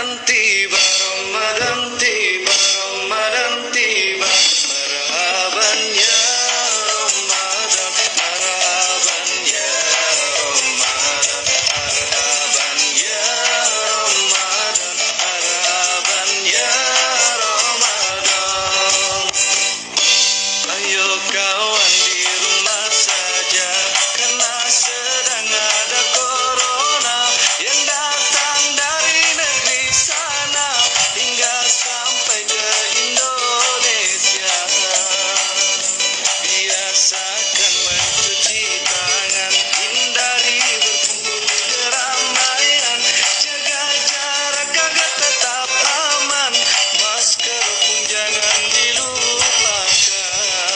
tiba, Ramadan tiba, Ramadan tiba. Marhaban ya Ramadan, marhaban ya Ramadan, marhaban ya Ramadan, marhaban ya Ramadan. Ayo kawan di rumah saja, karena sedang ada corona yang datang dari negeri sana hingga sampai ke Indonesia. Biasakan mencuci tangan, hindari berkumpul di keramaian, jaga jarak agar tetap aman, masker pun jangan dilupakan.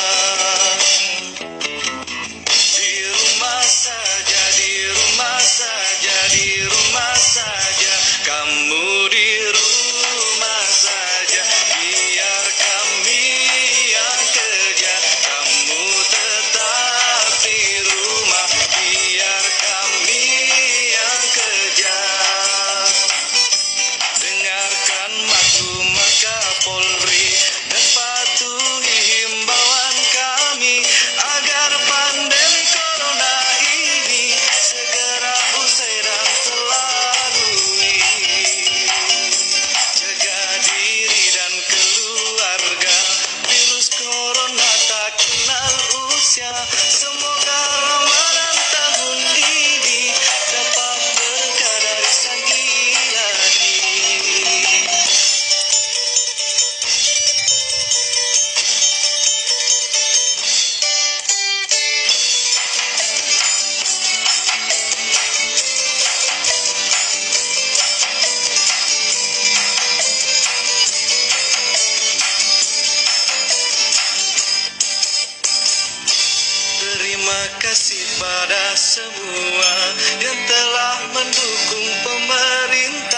Di rumah saja, di rumah saja, di rumah saja, kamu di rumah saja, biar kami yang kerja, kamu tetap di rumah, biar kami yang kerja. Dengarkan maklumat Kapolri dan patuhi himbauan kami agar pandemi corona ini segera usai dan terlalui. Jaga diri dan keluarga, virus corona tak kenal usia. Semoga Ramadan tahun ini dapat berkah dari Sang Ilahi. Terima kasih pada semua yang telah mendukung pemerintah.